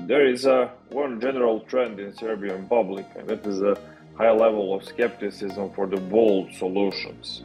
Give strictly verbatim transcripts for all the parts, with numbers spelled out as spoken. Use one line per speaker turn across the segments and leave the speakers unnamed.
There is a one general trend in Serbian public, and that is a high level of skepticism for the bold solutions.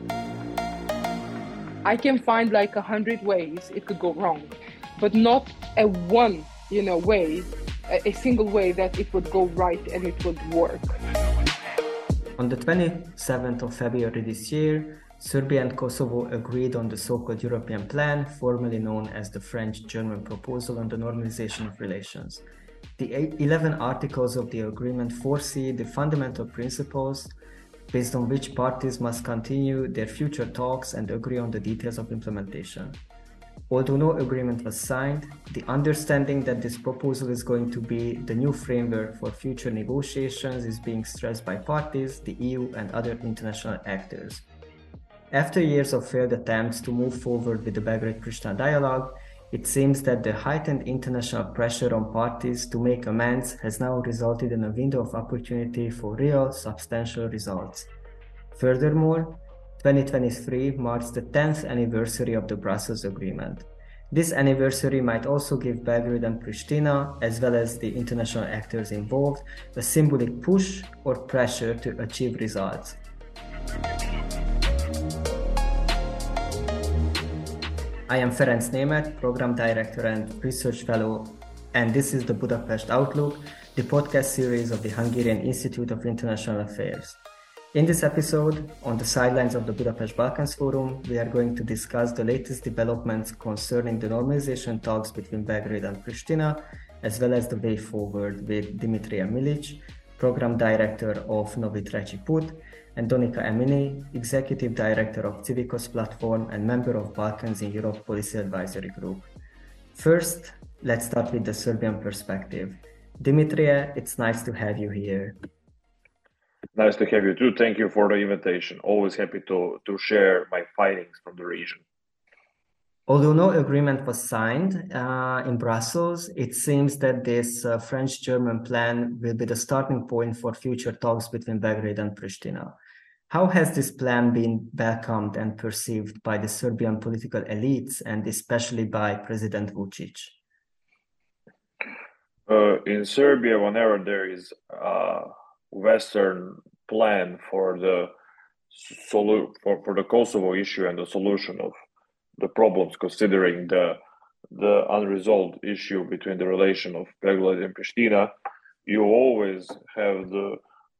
I can find like a hundred ways it could go wrong, but not a one, you know, way, a, a single way that it would go right and it would work.
On the twenty-seventh of February this year, Serbia and Kosovo agreed on the so-called European Plan, formerly known as the French-German Proposal on the Normalization of Relations. The eleven articles of the agreement foresee the fundamental principles based on which parties must continue their future talks and agree on the details of implementation. Although no agreement was signed, the understanding that this proposal is going to be the new framework for future negotiations is being stressed by parties, the E U, and other international actors. After years of failed attempts to move forward with the Belgrade-Pristina dialogue, it seems that the heightened international pressure on parties to make amends has now resulted in a window of opportunity for real, substantial results. Furthermore, twenty twenty-three marks the tenth anniversary of the Brussels Agreement. This anniversary might also give Belgrade and Pristina, as well as the international actors involved, a symbolic push or pressure to achieve results. I am Ferenc Németh, Program Director and Research Fellow, and this is the Budapest Outlook, the podcast series of the Hungarian Institute of International Affairs. In this episode, on the sidelines of the Budapest Balkans Forum, we are going to discuss the latest developments concerning the normalization talks between Belgrade and Pristina, as well as the way forward with Dimitra Milic, Program Director of Novi Treći Put, and Donika Emini, Executive Director of Civicus Platform and member of Balkans in Europe Policy Advisory Group. First, let's start with the Serbian perspective. Dimitra, it's nice to have you here.
Nice to have you too. Thank you for the invitation. Always happy to, to share my findings from the region.
Although no agreement was signed uh, in Brussels, it seems that this uh, French-German plan will be the starting point for future talks between Belgrade and Pristina. How has this plan been welcomed and perceived by the Serbian political elites and especially by President Vučić?
Uh, in Serbia, whenever there is a Western plan for the solu- for, for the Kosovo issue and the solution of the problems, considering the the unresolved issue between the relation of Belgrade and Pristina, you always have the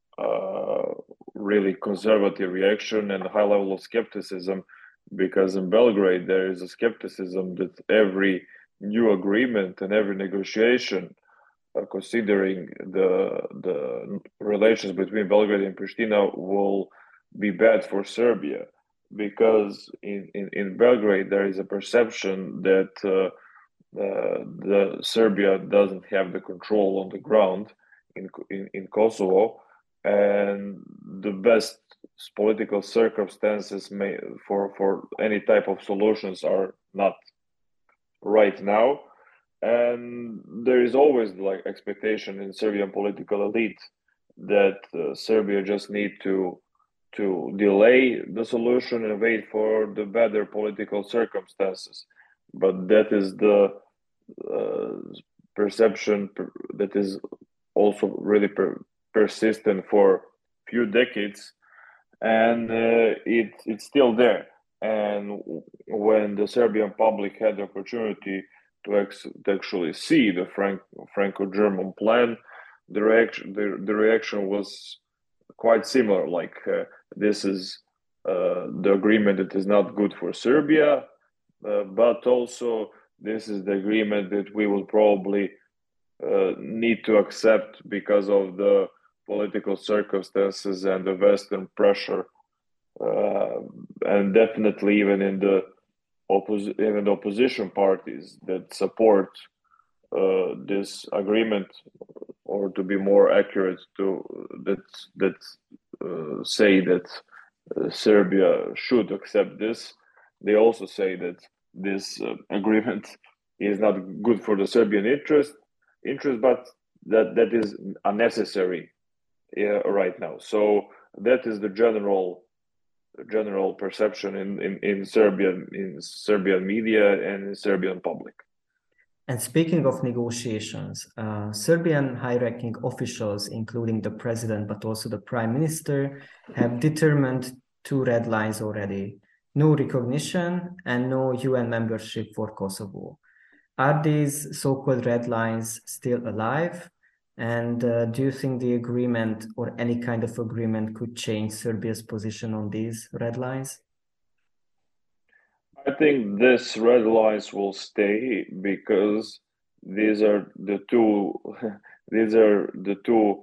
uh, really conservative reaction and high level of skepticism, because in Belgrade there is a skepticism that every new agreement and every negotiation, uh, considering the the relations between Belgrade and Pristina, will be bad for Serbia. Because in, in, in Belgrade there is a perception that uh, uh, the Serbia doesn't have the control on the ground in, in in Kosovo, and the best political circumstances may for for any type of solutions are not right now, and there is always like expectation in Serbian political elite that uh, Serbia just need to. to delay the solution and wait for the better political circumstances. But that is the uh, perception that is also really per- persistent for few decades, and uh, it it's still there. And when the Serbian public had the opportunity to, ex- to actually see the Frank- Franco-German plan, the reaction the, the reaction was quite similar. Like uh, this is uh, the agreement that is not good for Serbia, uh, but also this is the agreement that we will probably uh, need to accept because of the political circumstances and the Western pressure, uh, and definitely even in the oppos- even the opposition parties that support uh, this agreement, or to be more accurate, to that that uh, say that uh, Serbia should accept this. They also say that this uh, agreement is not good for the Serbian interest, interest, but that that is unnecessary uh, right now. So that is the general general perception in, in, in Serbian in Serbian media and in Serbian public.
And speaking of negotiations, uh, Serbian high-ranking officials, including the president, but also the prime minister, have determined two red lines already: no recognition and no U N membership for Kosovo. Are these so-called red lines still alive? And uh, do you think the agreement or any kind of agreement could change Serbia's position on these red lines?
I think this red lines will stay because these are the two these are the two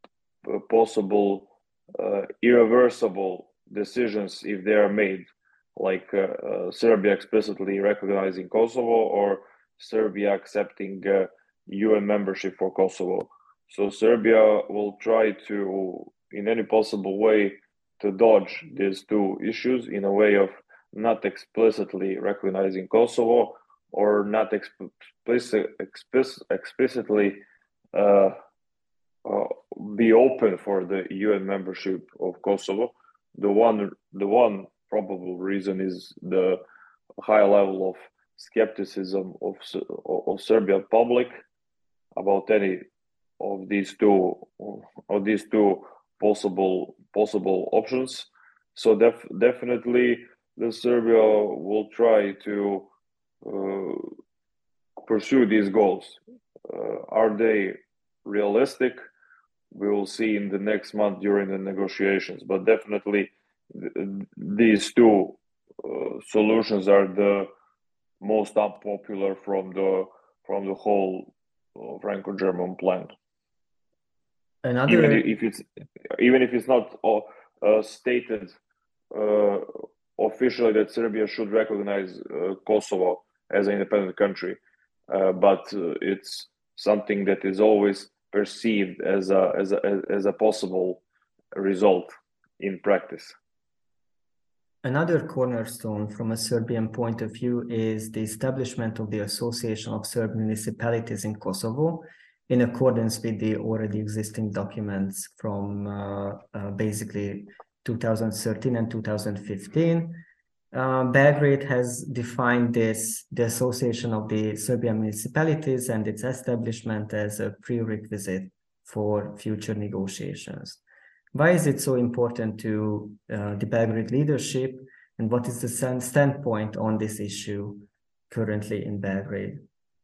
possible uh, irreversible decisions if they are made, like uh, uh, Serbia explicitly recognizing Kosovo or Serbia accepting uh, U N membership for Kosovo. So Serbia will try to, in any possible way, to dodge these two issues in a way of not explicitly recognizing Kosovo or not explicit, explicit, explicitly uh, uh, be open for the U N membership of Kosovo. The one, the one probable reason is the high level of skepticism of of Serbian public about any of these two of these two possible possible options. So def, definitely, the Serbia will try to uh, pursue these goals. Uh, are they realistic? We will see in the next month during the negotiations. But definitely, th these two uh, solutions are the most unpopular from the from the whole uh, Franco-German plan.
Another...
Even if it's even if it's not uh, stated uh, officially that Serbia should recognize uh, Kosovo as an independent country, uh, but uh, it's something that is always perceived as a as a as a possible result in practice.
Another cornerstone from a Serbian point of view is the establishment of the Association of Serb Municipalities in Kosovo, in accordance with the already existing documents from uh, uh, basically two thousand thirteen and two thousand fifteen. Uh, Belgrade has defined this, the Association of the Serbian Municipalities and its establishment as a prerequisite for future negotiations. Why is it so important to uh, the Belgrade leadership, and what is the standpoint on this issue currently in Belgrade?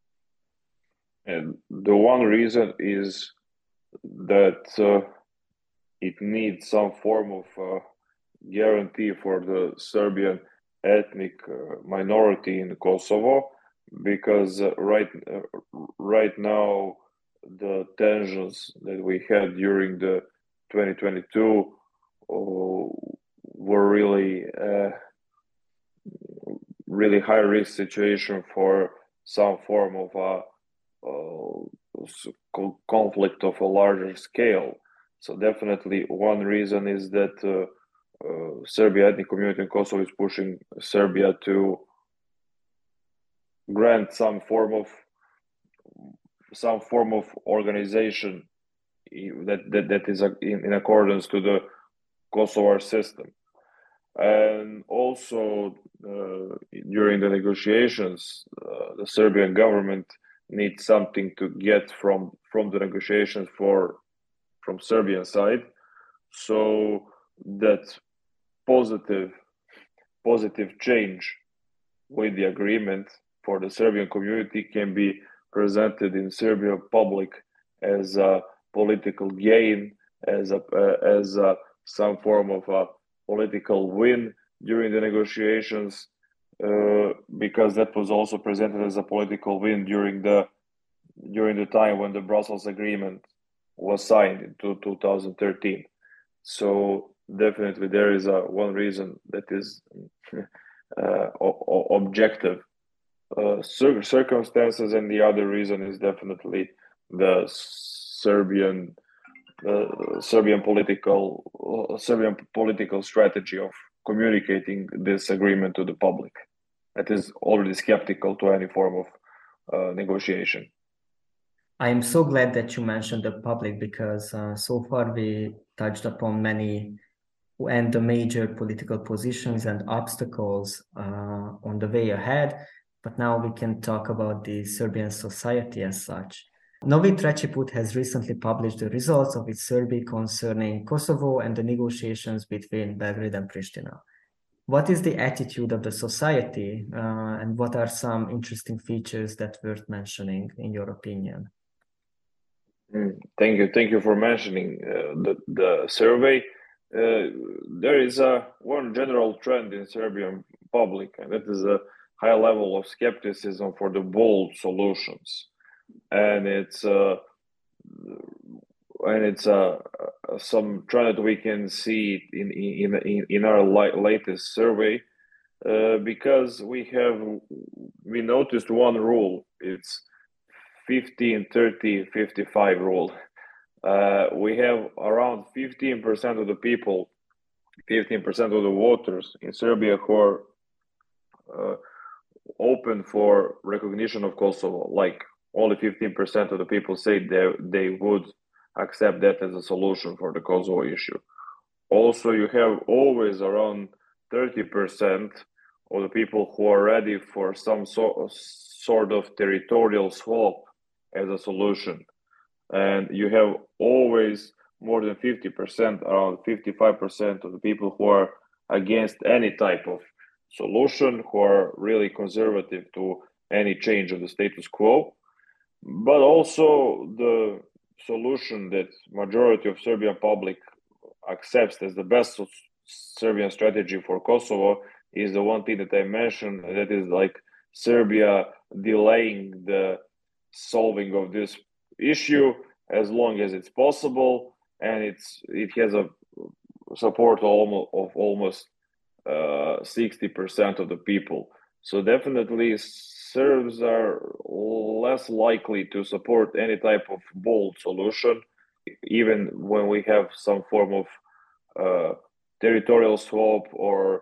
And the one reason is that uh, it needs some form of uh, guarantee for the Serbian ethnic uh, minority in Kosovo, because uh, right uh, right now the tensions that we had during the twenty twenty-two uh, were really uh, really high risk situation for some form of a uh, conflict of a larger scale. So definitely one reason is that uh, uh, Serbia ethnic community in Kosovo is pushing Serbia to grant some form of some form of organization that that, that is in, in accordance to the Kosovar system. And also uh, during the negotiations, uh, the Serbian government needs something to get from from the negotiations for from Serbian side, so that positive positive change with the agreement for the Serbian community can be presented in Serbian public as a political gain, as a uh, as a, some form of a political win during the negotiations, uh, because that was also presented as a political win during the during the time when the Brussels Agreement was signed in two thousand thirteen. So definitely there is a one reason that is uh, o- objective uh, cir- circumstances, and the other reason is definitely the Serbian uh, Serbian political uh, Serbian political strategy of communicating this agreement to the public that is already skeptical to any form of uh, negotiation.
I am so glad that you mentioned the public, because uh, so far we touched upon many and the major political positions and obstacles uh, on the way ahead. but now we can talk about the Serbian society as such. Novi Treći Put has recently published the results of its survey concerning Kosovo and the negotiations between Belgrade and Pristina. What is the attitude of the society, uh, and what are some interesting features that worth mentioning, in your opinion?
Mm, thank you. Thank you for mentioning uh, the, the survey. Uh, there is a one general trend in Serbian public, and that is a high level of skepticism for the bold solutions. And it's uh, and it's uh, some trend that we can see in in in, in our li- latest survey, uh, because we have we noticed one rule. It's fifteen, thirty, fifty-five rule. Uh, we have around fifteen percent of the people, fifteen percent of the voters in Serbia who are uh, open for recognition of Kosovo. Like only fifteen percent of the people say they, they would accept that as a solution for the Kosovo issue. Also, you have always around thirty percent of the people who are ready for some so, sort of territorial swap as a solution. And you have always more than fifty percent, around fifty-five percent of the people who are against any type of solution, who are really conservative to any change of the status quo. But also the solution that majority of Serbian public accepts as the best Serbian strategy for Kosovo is the one thing that I mentioned, that is like Serbia delaying the solving of this issue as long as it's possible, and it's it has a support almost of almost uh, sixty percent of the people. So definitely Serbs are less likely to support any type of bold solution, even when we have some form of uh, territorial swap or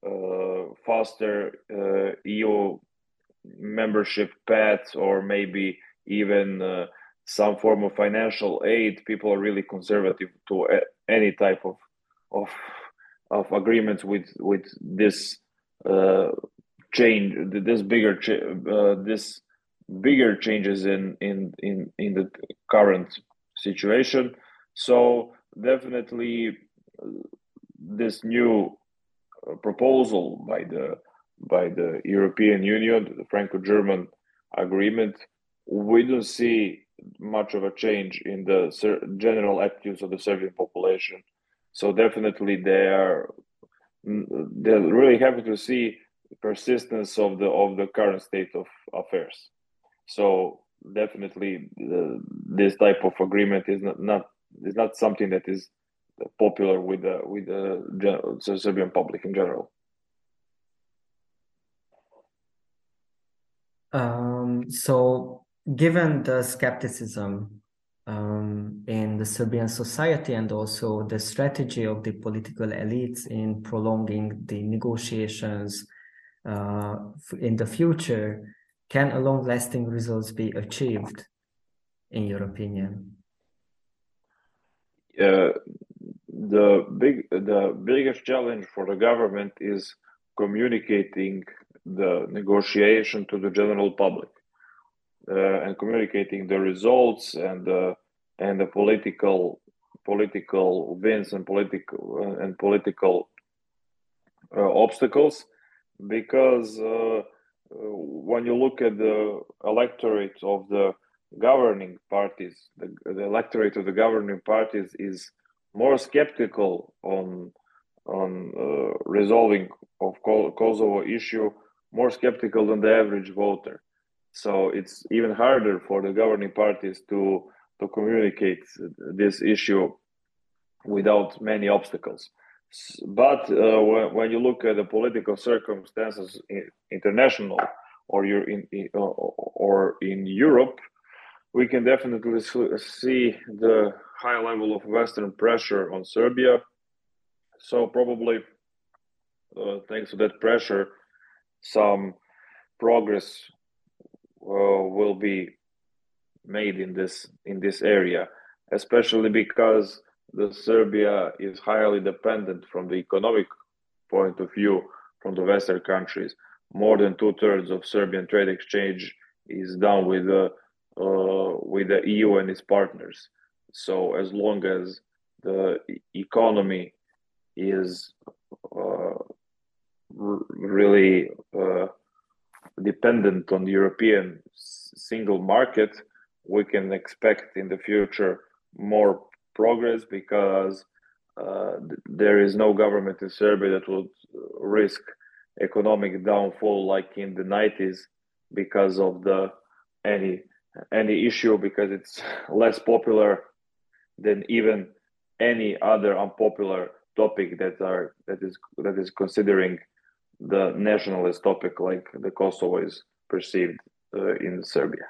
uh, faster uh, E U membership path, or maybe even uh, some form of financial aid. People are really conservative to a, any type of of of agreements with with this uh, change, this bigger uh, this bigger changes in in in in the current situation. So definitely, uh, this new uh, proposal by the by the European Union, the Franco-German agreement, we don't see much of a change in the general attitudes of the Serbian population. So definitely they are they're really happy to see persistence of the of the current state of affairs. So definitely the, this type of agreement is not, not is not something that is popular with the with the general, the Serbian public in general.
Um, so, given the skepticism um, in the Serbian society and also the strategy of the political elites in prolonging the negotiations uh, in the future, can a long-lasting results be achieved, in your opinion?
Uh, the big the biggest challenge for the government is communicating the negotiation to the general public, uh, and communicating the results and the and the political political wins and political uh, and political uh, obstacles, because uh, when you look at the electorate of the governing parties, the, the electorate of the governing parties is more skeptical on on uh, resolving of Kosovo issue, more skeptical than the average voter. So it's even harder for the governing parties to to communicate this issue without many obstacles. But uh, when, when you look at the political circumstances in, international or you're in, in or in Europe, we can definitely see the high level of Western pressure on Serbia. So probably, uh, thanks to that pressure, some progress uh, will be made in this in this area, especially because the Serbia is highly dependent from the economic point of view from the Western countries. more than two thirds of Serbian trade exchange is done with the uh, with the E U and its partners. So as long as the economy is uh, really uh, dependent on the European single market, we can expect in the future more progress, because uh, there is no government in Serbia that would risk economic downfall like in the nineties because of the any any issue, because it's less popular than even any other unpopular topic that are that is that is considering the nationalist topic like the Kosovo is perceived uh, in Serbia.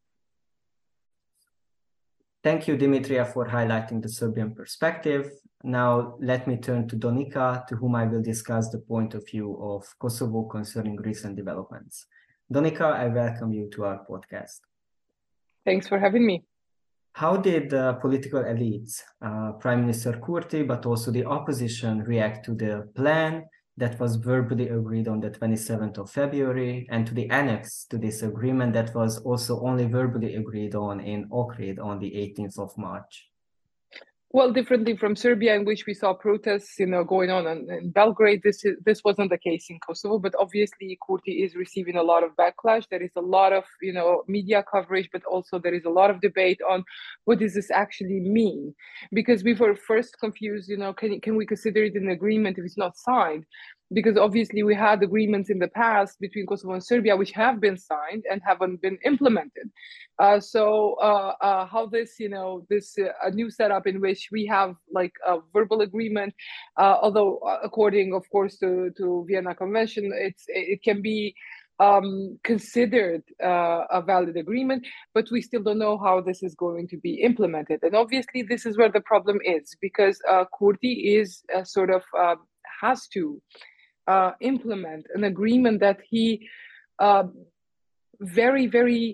Thank you, Dimitra, for highlighting the Serbian perspective. Now, let me turn to Donika, to whom I will discuss the point of view of Kosovo concerning recent developments. Donika, I welcome you to our podcast.
Thanks for having me.
How did the political elites, uh, Prime Minister Kurti, but also the opposition, react to the plan that was verbally agreed on the twenty-seventh of February, and to the annex to this agreement that was also only verbally agreed on in Ohrid on the eighteenth of March?
Well, differently from Serbia, in which we saw protests, you know, going on in, in Belgrade, this is, this wasn't the case in Kosovo. But obviously, Kurti is receiving a lot of backlash. There is a lot of, you know, media coverage, but also there is a lot of debate on what does this actually mean? Because we were first confused, you know, can can we consider it an agreement if it's not signed? Because obviously we had agreements in the past between Kosovo and Serbia which have been signed and haven't been implemented. Uh, so uh, uh, how this, you know, this uh, a new setup in which we have like a verbal agreement, uh, although uh, according, of course, to, to Vienna Convention, it's it can be um, considered uh, a valid agreement, but we still don't know how this is going to be implemented. And obviously this is where the problem is, because uh, Kurti is uh, sort of uh, has to Uh, implement an agreement that he uh, very, very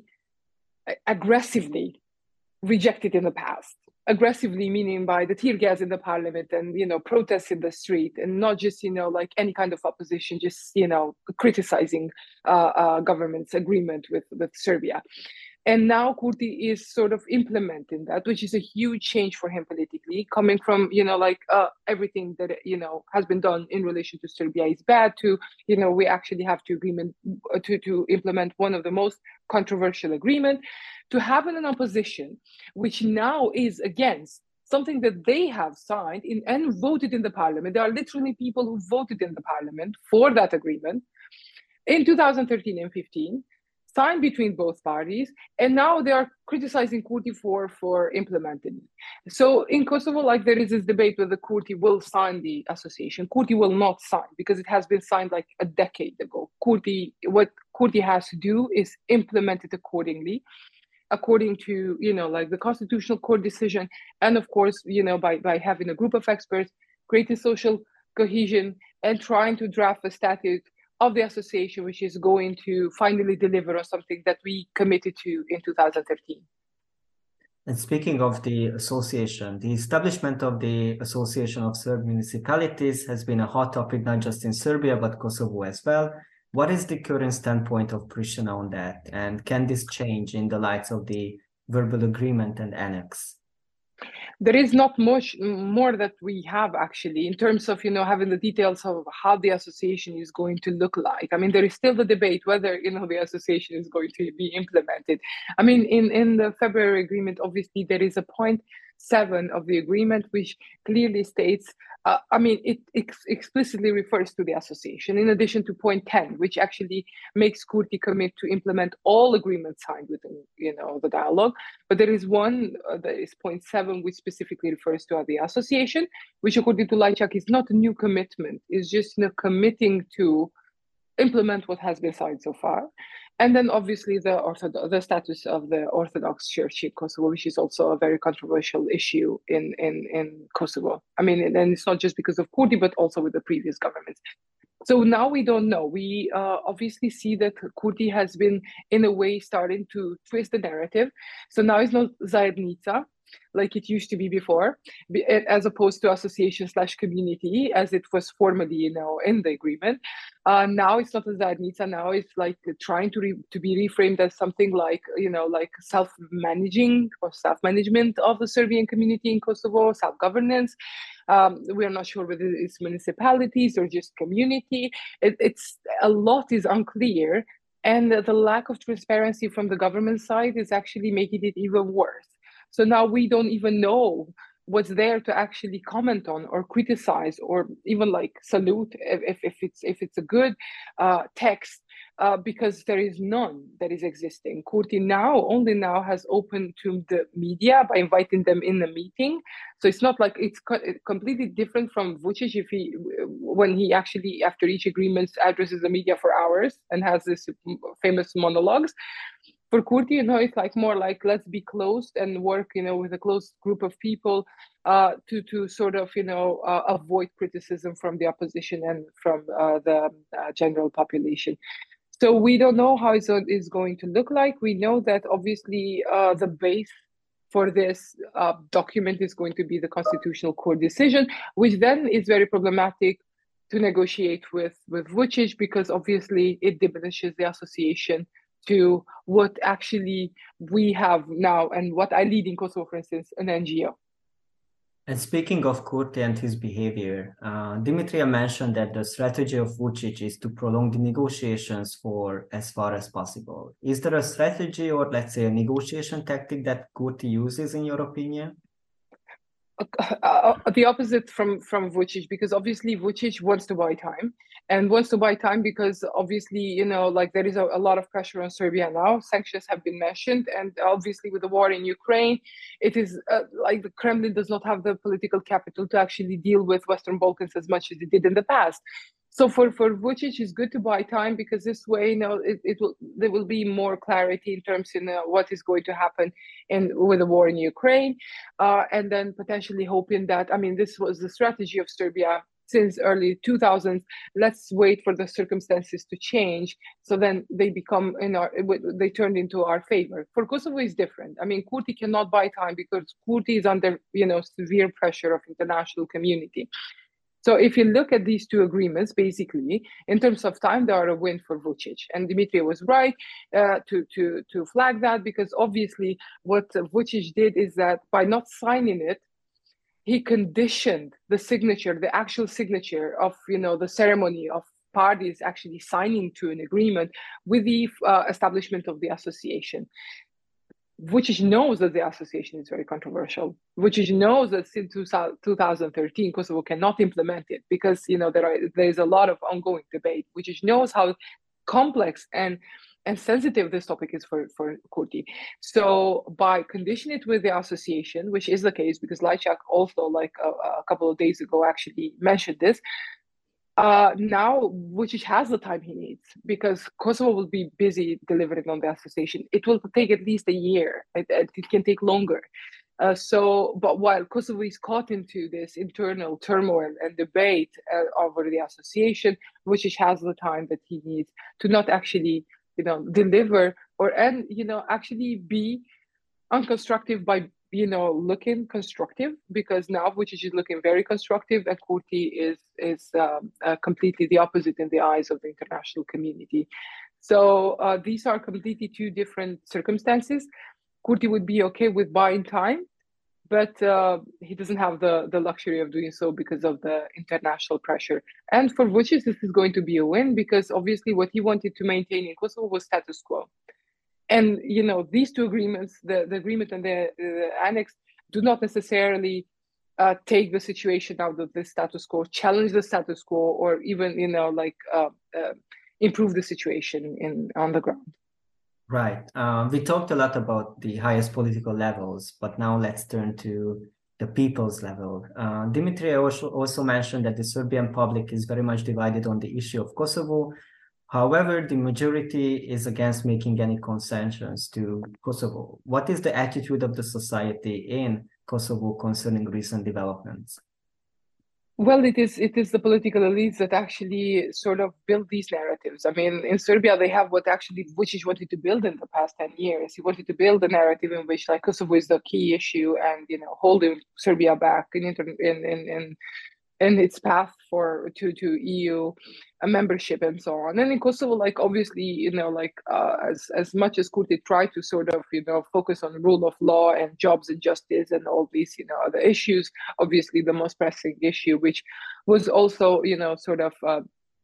aggressively rejected in the past. Aggressively meaning by the tear gas in the parliament and, you know, protests in the street, and not just, you know, like any kind of opposition, just, you know, criticizing uh, uh, government's agreement with, with Serbia. And now Kurti is sort of implementing that, which is a huge change for him politically, coming from, you know, like uh, everything that, you know, has been done in relation to Serbia is bad, to, you know, we actually have to agreement to, to implement one of the most controversial agreement, to have an opposition, which now is against something that they have signed in and voted in the parliament. There are literally people who voted in the parliament for that agreement in two thousand thirteen and fifteen. Signed between both parties, and now they are criticizing Kurti for, for implementing it. So in Kosovo, like there is this debate whether Kurti will sign the association. Kurti will not sign because it has been signed like a decade ago. Kurti, what Kurti has to do is implement it accordingly, according to, you know, like the Constitutional Court decision, and of course, you know, by, by having a group of experts, creating social cohesion, and trying to draft a statute of the association, which is going to finally deliver on something that we committed to in two thousand thirteen.
And speaking of the association, the establishment of the Association of Serb Municipalities has been a hot topic, not just in Serbia, but Kosovo as well. What is the current standpoint of Pristina on that? And can this change in the light of the verbal agreement and annex?
There is not much more that we have actually in terms of, you know, having the details of how the association is going to look like. I mean, there is still the debate whether, you know, the association is going to be implemented. I mean, in, in the February agreement, obviously there is a point seven of the agreement, which clearly states, uh, I mean, it ex explicitly refers to the association, in addition to point ten, which actually makes Kurti commit to implement all agreements signed within, you know, the dialogue. But there is one, uh, that is point seven, which specifically refers to the association, which according to Lajčák is not a new commitment, it's just, you know, committing to implement what has been signed so far. And then obviously the Orthodox, the status of the Orthodox Church in Kosovo, which is also a very controversial issue in, in, in Kosovo. I mean, and it's not just because of Kurti, but also with the previous governments. So now we don't know. We uh, obviously see that Kurti has been, in a way, starting to twist the narrative. So now it's not Zajednica, like it used to be before, as opposed to association slash community as it was formally, you know, in the agreement. Uh, now it's not a zajednica. Now it's like trying to re- to be reframed as something like, you know, like self-managing or self-management of the Serbian community in Kosovo, self-governance. Um, we are not sure whether it's municipalities or just community. It, it's a lot is unclear, and the lack of transparency from the government side is actually making it even worse. So now we don't even know what's there to actually comment on or criticize or even like salute if, if it's if it's a good uh, text, uh, because there is none that is existing. Kurti now only now has opened to the media by inviting them in the meeting. So it's not like it's co- completely different from Vučić if he when he actually after each agreement addresses the media for hours and has this famous monologues. For Kurti, you know, it's like more like let's be closed and work, you know, with a close group of people uh, to to sort of, you know, uh, avoid criticism from the opposition and from uh, the uh, general population. So we don't know how it's is going to look like. We know that obviously uh, the base for this uh, document is going to be the Constitutional Court decision, which then is very problematic to negotiate with with Vučić because obviously it diminishes the association to what actually we have now and what I lead in Kosovo, for instance, an N G O.
And speaking of Kurti and his behavior, uh, Dimitra mentioned that the strategy of Vučić is to prolong the negotiations for as far as possible. Is there a strategy or, let's say, a negotiation tactic that Kurti uses, in your opinion?
Uh, the opposite from from Vučić, because obviously Vučić wants to buy time and wants to buy time because obviously, you know, like there is a, a lot of pressure on Serbia now. Sanctions have been mentioned, and obviously with the war in Ukraine, it is uh, like the Kremlin does not have the political capital to actually deal with Western Balkans as much as it did in the past. So for, for Vučić, it's good to buy time because this way, you know, it, it will there will be more clarity in terms of, you know, what is going to happen in with the war in Ukraine, uh, and then potentially hoping that, I mean, this was the strategy of Serbia since early two thousands. Let's wait for the circumstances to change, so then they become in our they turned into our favor. For Kosovo is different. I mean, Kurti cannot buy time because Kurti is under, you know, severe pressure of international community. So if you look at these two agreements, basically, in terms of time, they are a win for Vučić. And Dimitra was right uh, to, to, to flag that, because obviously what Vučić did is that by not signing it, he conditioned the signature, the actual signature of, you know, the ceremony of parties actually signing to an agreement with the uh, establishment of the association. Vučić knows that the association is very controversial. Vučić knows that since two thousand thirteen, Kosovo cannot implement it because, you know, there are there is a lot of ongoing debate. Vučić knows how complex and and sensitive this topic is for for Kurti. So by conditioning it with the association, which is the case because Lajčák also, like a, a couple of days ago, actually mentioned this. Uh, now, Vučić has the time he needs because Kosovo will be busy delivering on the association. It will take at least a year. It, it can take longer. Uh, so, but while Kosovo is caught into this internal turmoil and debate uh, over the association, Vučić has the time that he needs to not actually, you know, deliver or and you know actually be unconstructive by, you know, looking constructive, because now Vučić is looking very constructive and Kurti is is um, uh, completely the opposite in the eyes of the international community. So uh, these are completely two different circumstances. Kurti would be okay with buying time, but uh, he doesn't have the, the luxury of doing so because of the international pressure. And for Vučić, this is going to be a win because obviously what he wanted to maintain in Kosovo was status quo. And, you know, these two agreements, the, the agreement and the, the annex, do not necessarily uh, take the situation out of the status quo, challenge the status quo, or even, you know, like uh, uh, improve the situation in on the ground.
Right. Um, we talked a lot about the highest political levels, but now let's turn to the people's level. Uh, Dimitra also, also mentioned that the Serbian public is very much divided on the issue of Kosovo. However, the majority is against making any concessions to Kosovo. What is the attitude of the society in Kosovo concerning recent developments?
Well, it is it is the political elites that actually sort of build these narratives. I mean, in Serbia, they have what actually Vučić wanted to build in the past ten years. He wanted to build a narrative in which like Kosovo is the key issue and, you know, holding Serbia back in in in in, in its path for to to E U membership and so on. And in Kosovo, like obviously, you know, like uh, as as much as Kurti tried to sort of, you know, focus on rule of law and jobs and justice and all these, you know, other issues, obviously the most pressing issue, which was also, you know, sort of uh,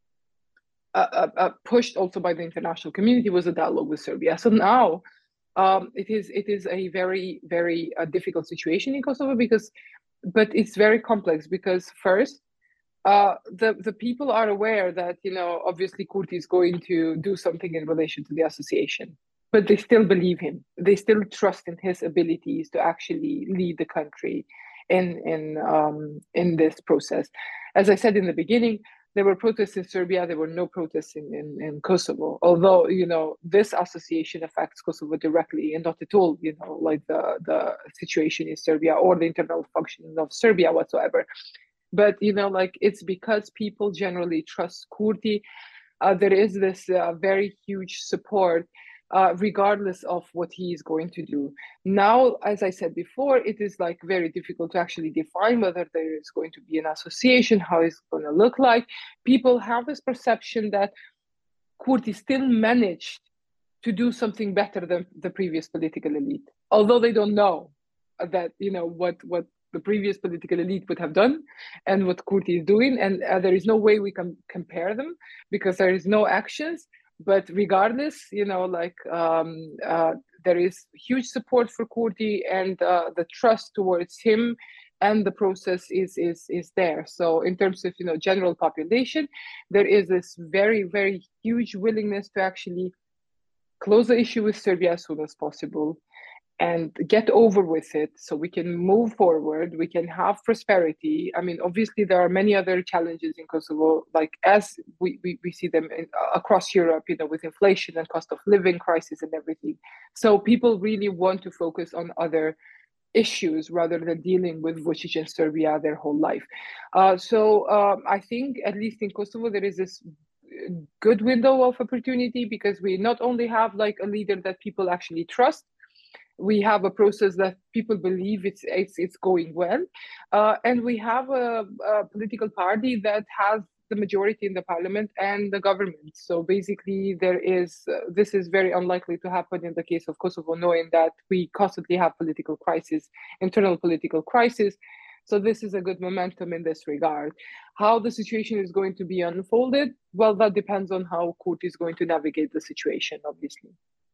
uh, uh, pushed also by the international community, was a dialogue with Serbia. So now um, it is it is a very very uh, difficult situation in Kosovo because, but it's very complex because first. Uh, the the people are aware that, you know, obviously Kurti is going to do something in relation to the association, but they still believe him. They still trust in his abilities to actually lead the country in in um, in this process. As I said in the beginning, there were protests in Serbia. There were no protests in, in, in Kosovo. Although, you know, this association affects Kosovo directly and not at all, you know, like the the situation in Serbia or the internal functioning of Serbia whatsoever. But, you know, like it's because people generally trust Kurti. Uh, there is this uh, very huge support, uh, regardless of what he is going to do. Now, as I said before, it is like very difficult to actually define whether there is going to be an association, how it's going to look like. People have this perception that Kurti still managed to do something better than the previous political elite, although they don't know that, you know, what what the previous political elite would have done and what Kurti is doing. And uh, there is no way we can compare them because there is no actions. But regardless, you know, like um, uh, there is huge support for Kurti and uh, the trust towards him and the process is, is, is there. So in terms of, you know, general population, there is this very, very huge willingness to actually close the issue with Serbia as soon as possible and get over with it so we can move forward, we can have prosperity. I mean, obviously there are many other challenges in Kosovo, like as we, we, we see them in, uh, across Europe, you know, with inflation and cost of living crisis and everything. So people really want to focus on other issues rather than dealing with Vučić and Serbia their whole life. Uh, so um, I think at least in Kosovo, there is this good window of opportunity because we not only have like a leader that people actually trust, we have a process that people believe it's it's, it's going well, uh, and we have a, a political party that has the majority in the parliament and the government. So basically, there is uh, this is very unlikely to happen in the case of Kosovo, knowing that we constantly have political crisis, internal political crisis. So this is a good momentum in this regard. How the situation is going to be unfolded, well, that depends on how Kurti is going to navigate the situation, obviously.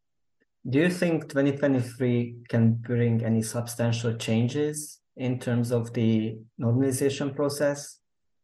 Do you think twenty twenty-three can bring any substantial changes in terms of the normalization process?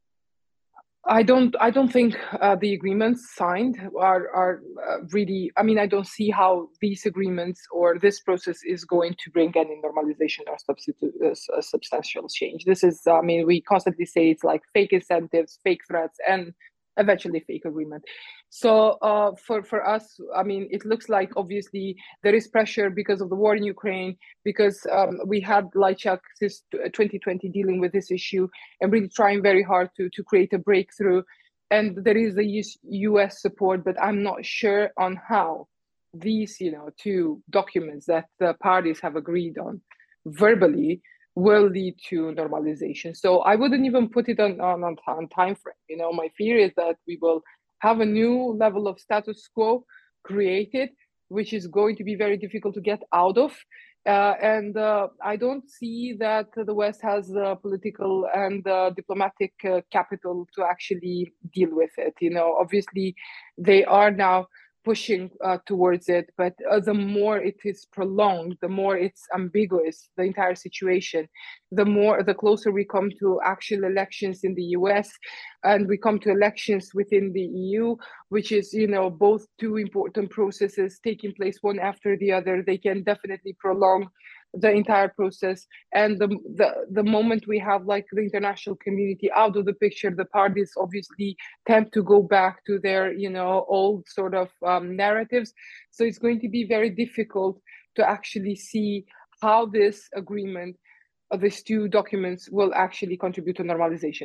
I don't. I don't think uh, the agreements signed are are uh, really. I mean, I don't see how these agreements or this process is going to bring any normalization or substitute uh, substantial change. This is. I mean, we constantly say it's like fake incentives, fake threats, and eventually fake agreement. So uh, for, for us, I mean, it looks like obviously there is pressure because of the war in Ukraine, because um, we had Lajčák since twenty twenty dealing with this issue and really trying very hard to, to create a breakthrough. And there is a U S support, but I'm not sure on how these, you know, two documents that the parties have agreed on verbally will lead to normalization. So I wouldn't even put it on, on, on time frame. You know, my fear is that we will have a new level of status quo created, which is going to be very difficult to get out of. Uh, and uh, I don't see that the West has the political and uh, diplomatic uh, capital to actually deal with it. You know, obviously they are now pushing uh, towards it, but uh, the more it is prolonged, the more it's ambiguous, the entire situation, the more, the closer we come to actual elections in the U S and we come to elections within the E U, which is, you know, both two important processes taking place one after the other. They can definitely prolong the entire process. And the, the the moment we have like the international community out of the picture, the parties obviously tend to go back to their, you know, old sort of um, narratives. So it's going to be very difficult to actually see how this agreement, uh, these two documents will actually contribute to normalization.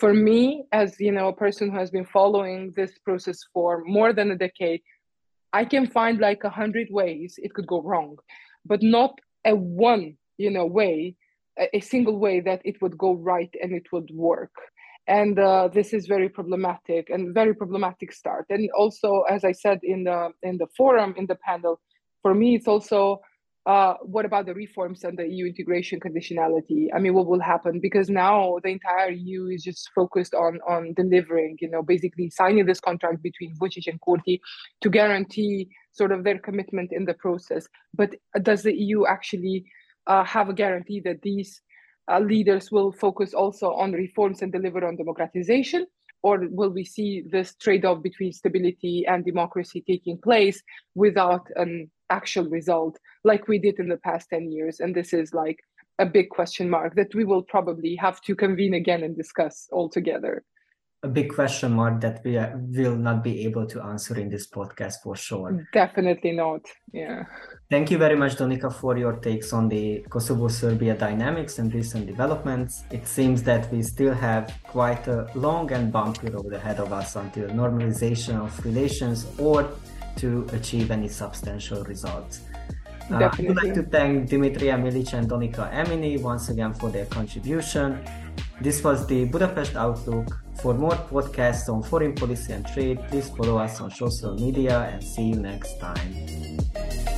For me, as you know, a person who has been following this process for more than a decade, I can find like a hundred ways it could go wrong, but not a one, you know, way, a, a single way that it would go right and it would work. And uh, this is very problematic and very problematic start. And also, as I said in the in the forum, in the panel, for me, it's also, uh, what about the reforms and the E U integration conditionality? I mean, what will happen? Because now the entire E U is just focused on, on delivering, you know, basically signing this contract between Vučić and Kurti to guarantee sort of their commitment in the process. But does the E U actually uh, have a guarantee that these uh, leaders will focus also on reforms and deliver on democratization? Or will we see this trade-off between stability and democracy taking place without an actual result like we did in the past ten years? And this is like a big question mark that we will probably have to convene again and discuss all together.
A big question mark that we are, will not be able to answer in this podcast for sure.
Definitely not, yeah.
Thank you very much, Donika, for your takes on the Kosovo-Serbia dynamics and recent developments. It seems that we still have quite a long and bumpy road ahead of us until normalization of relations or to achieve any substantial results. Uh, I would like to thank Dimitra Milic and Donika Emini once again for their contribution. This was the Budapest Outlook. For more podcasts on foreign policy and trade, please follow us on social media and see you next time.